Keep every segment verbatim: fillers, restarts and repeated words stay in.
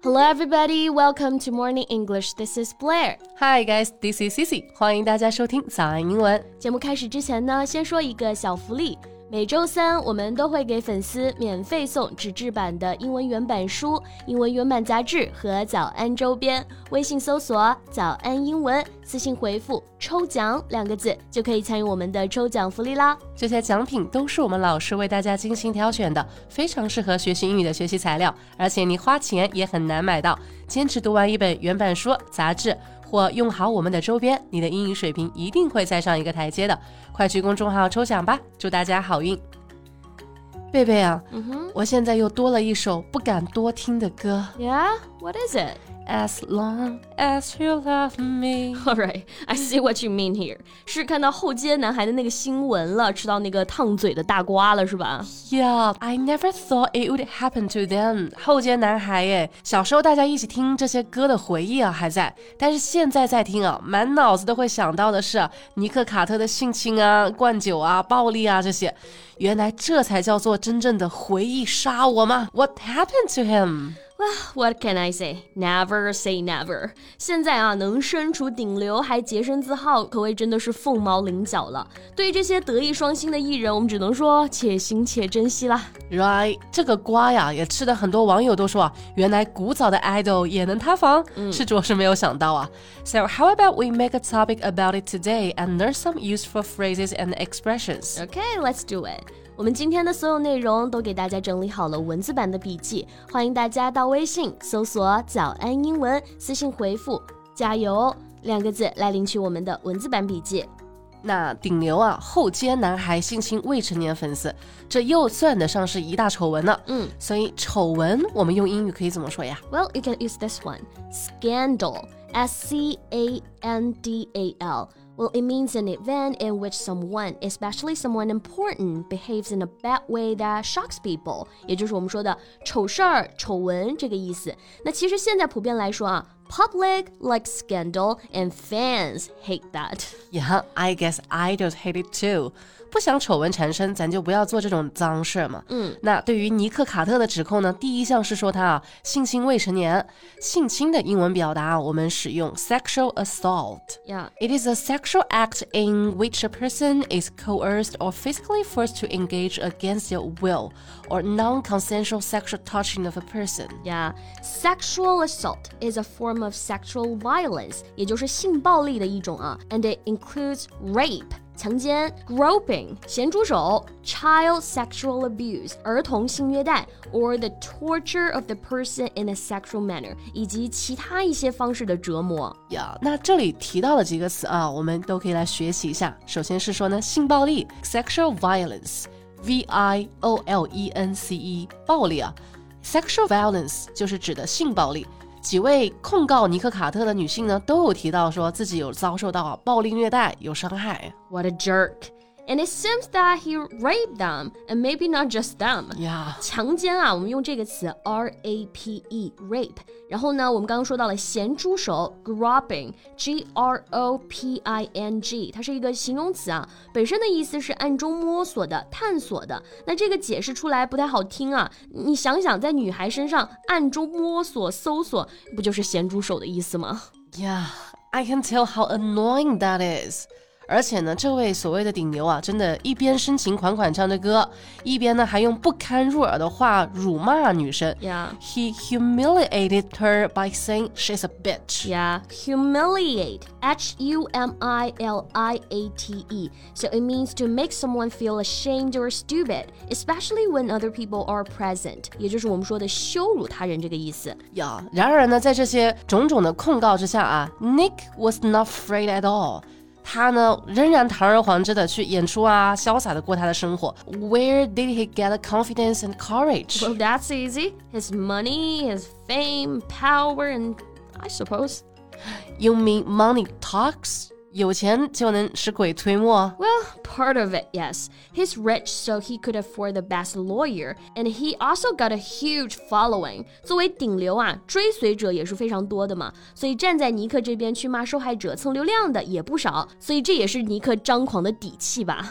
Hello everybody, welcome to Morning English. This is Blair. Hi guys, this is Cici. 欢迎大家收听早安英文。 节目开始之前呢，先说一个小福利。每周三我们都会给粉丝免费送纸质版的英文原版书、英文原版杂志和早安周边。微信搜索早安英文，私信回复抽奖两个字就可以参与我们的抽奖福利啦。 这些奖品都是我们老师为大家精心挑选的，非常适合学习英语的学习材料，而且你花钱也很难买到。坚持读完一本原版书、杂志或用好我们的周边，你的英语水平一定会再上一个台阶的。快去公众号抽奖吧，祝大家好运。贝贝啊、 mm-hmm. 我现在又多了一首不敢多听的歌。 Yeah? What is it? As long as you love me. Alright, I see what you mean here. 是看到后街男孩的那个新闻了，吃到那个烫嘴的大瓜了是吧？ Yeah, I never thought it would happen to them. 后街男孩耶，小时候大家一起听这些歌的回忆啊还在，但是现在在听啊，满脑子都会想到的是尼克卡特的性侵啊、灌酒啊、暴力啊这些。原来这才叫做真正的回忆杀我吗？ What happened to him?Well, what can I say? Never say never. 现在啊，能身处顶流还洁身自好，可谓真的是凤毛麟角了。对于这些德艺双馨的艺人，我们只能说且行且珍惜啦。 Right, 这个瓜呀，也吃的很多网友都说啊，原来古早的 idol 也能塌房，嗯、是着实没有想到啊。So how about we make a topic about it today and learn some useful phrases and expressions? Okay, let's do it.我们今天的所有内容都给大家整理好了文字版的笔记，欢迎大家到微信搜索早安英文，私信回复加油两个字来领取我们的文字版笔记。 那顶流啊，后街男孩性侵未成年粉丝，这又算得上是一大丑闻了。 嗯， 所以丑闻我们用英语可以怎么说呀？ Well, you can use this one. Scandal. S C A N D A L.Well, it means an event in which someone, especially someone important, behaves in a bad way that shocks people. 也就是我们说的丑事儿、丑闻这个意思。那其实现在普遍来说啊 ，public likes scandal and fans hate that. Yeah, I guess idols hate it too. 不想丑闻缠身，咱就不要做这种脏事嘛。 嗯， 那对于尼克卡特的指控呢，第一项是说他啊性侵未成年。性侵的英文表达我们使用 sexual assault. Yeah. It is a sexual act in which a person is coerced or physically forced to engage against their will or non-consensual sexual touching of a person. Yeah, sexual assault is a form of sexual violence, 也就是性暴力的一种啊 and it includes rape.强奸 groping 咸猪手 child sexual abuse 儿童性虐待 or the torture of the person in a sexual manner 以及其他一些方式的折磨。 呀、yeah, 那这里提到了几个词啊，我们都可以来学习一下。首先是说呢，性暴力 sexual violence V I O L E N C E 暴力啊 sexual violence 就是指的性暴力。几位控告尼克卡特的女性呢，都有提到说自己有遭受到暴力虐待，有伤害。 What a jerk! And it seems that he raped them, and maybe not just them. Yeah. 强奸啊，我们用这个词 R A P E, rape. 然后呢，我们刚刚说到了咸猪手 groping, G R O P I N G. 它是一个形容词啊，本身的意思是暗中摸索的、探索的。那这个解释出来不太好听啊，你想想，在女孩身上暗中摸索、搜索，不就是咸猪手的意思吗？ Yeah, I can tell how annoying that is.而且呢，这位所谓的顶流啊，真的一边深情款款唱着歌，一边呢还用不堪入耳的话辱骂女生。 Yeah. He humiliated her by saying she's a bitch. Yeah, humiliate. H U M I L I A T E. So it means to make someone feel ashamed or stupid, especially when other people are present. 也就是我们说的羞辱他人这个意思。 呀、yeah, 然而呢，在这些种种的控告之下啊 ，Nick was not afraid at all.他呢，仍然堂而皇之的去演出啊，潇洒的过他的生活。Where did he get the confidence and courage? Well, that's easy. His money, his fame, power, and I suppose. You mean money talks? 有钱就能使鬼推磨 Well, part of it, yes. He's rich, so he could afford the best lawyer, and he also got a huge following. 作为顶流啊，追随者也是非常多的嘛，所以站在尼克这边去骂受害者蹭流量的也不少，所以这也是尼克张狂的底气吧。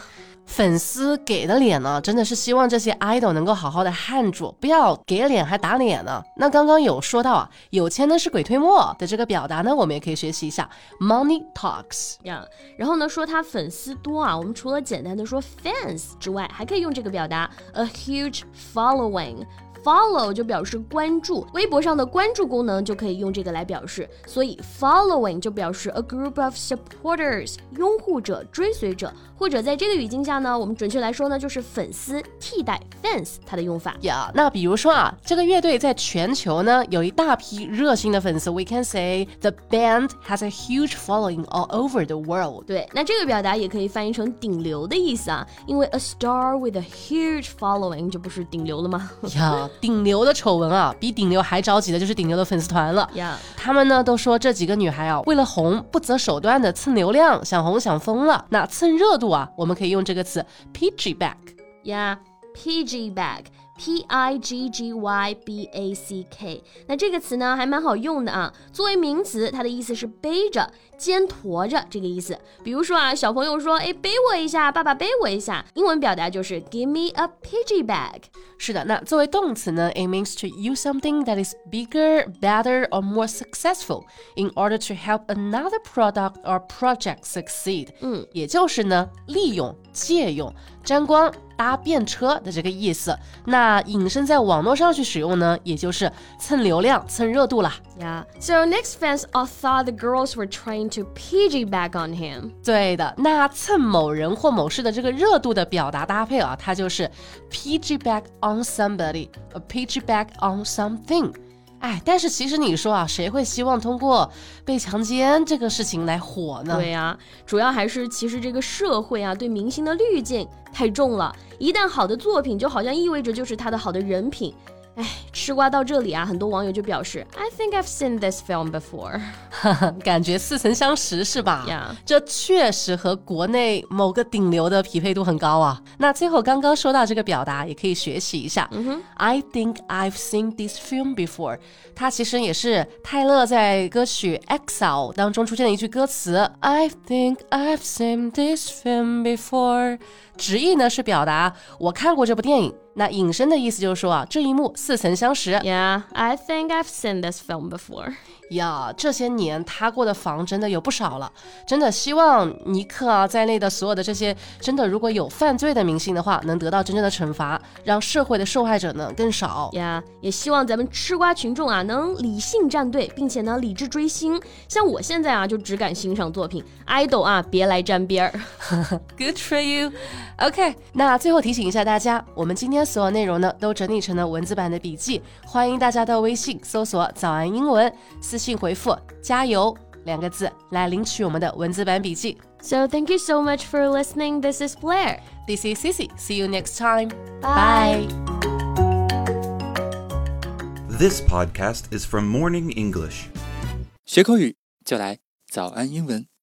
粉丝给的脸呢，真的是希望这些 idol 能够好好的handle住，不要给脸还打脸呢。那刚刚有说到啊，有钱呢是鬼推磨的这个表达呢，我们也可以学习一下 money talks 呀。Yeah. 然后呢，说他粉丝多啊，我们除了简单的说 fans 之外，还可以用这个表达 a huge following。Follow 就表示关注，微博上的关注功能就可以用这个来表示，所以 following 就表示 a group of supporters 拥护者、追随者，或者在这个语境下呢，我们准确来说呢，就是粉丝替代 fans 它的用法。 呀、yeah, 那比如说啊，这个乐队在全球呢有一大批热心的粉丝 ，we can say the band has a huge following all over the world。 对，那这个表达也可以翻译成顶流的意思啊，因为 a star with a huge following 就不是顶流了吗？ 呀。Yeah, 顶流的丑闻啊，比顶流还着急的就是顶流的粉丝团了。 Yeah. 他们呢都说这几个女孩啊，为了红不择手段的蹭流量，想红想疯了。那蹭热度啊，我们可以用这个词 piggyback。Yeah, piggyback。P I G G Y B A C K 那这个词呢还蛮好用的啊，作为名词它的意思是背着肩驮着这个意思。比如说啊，小朋友说，哎，背我一下，爸爸背我一下，英文表达就是 give me a piggy bag。 是的，那作为动词呢， it means to use something that is bigger, better or more successful in order to help another product or project succeed。 嗯，也就是呢利用、借用、沾光、搭便车的这个意思。那引申在网络上去使用呢，也就是蹭流量、蹭热度啦。 Yeah, so Nick's fans all thought the girls were trying to piggyback on him. 对的，那蹭某人或某事的这个热度的表达搭配啊，它就是 piggyback on somebody, a piggyback on something。哎，但是其实你说啊，谁会希望通过被强奸这个事情来火呢？ 对啊，主要还是其实这个社会啊对明星的滤镜太重了，一旦好的作品就好像意味着就是他的好的人品。哎，吃瓜到这里啊，很多网友就表示 I think I've seen this film before 感觉似曾相识是吧？ Yeah. 这确实和国内某个顶流的匹配度很高啊。那最后刚刚说到这个表达也可以学习一下、mm-hmm. I think I've seen this film before， 它其实也是泰勒在歌曲 Exile 当中出现的一句歌词 I think I've seen this film before， 直译呢是表达我看过这部电影，那引申的意思就是说啊，这一幕似曾相识。 Yeah, I think I've seen this film before。 呀，这些年他过的房真的有不少了，真的希望尼克啊在内的所有的这些真的如果有犯罪的明星的话，能得到真正的惩罚，让社会的受害者呢更少。 呀、yeah, 也希望咱们吃瓜群众啊能理性站队，并且呢理智追星。像我现在啊就只敢欣赏作品 idol 啊别来沾边儿。 Good for you。 OK， 那最后提醒一下大家，我们今天所有内容呢都整理成了文字版的笔记，欢迎大家到微信搜索早安英文，私信回复加油两个字来领取我们的文字版笔记。 So thank you so much for listening. This is Blair. This is Sissy. See you next time. Bye. Bye. This podcast is from Morning English. 学口语就来早安英文。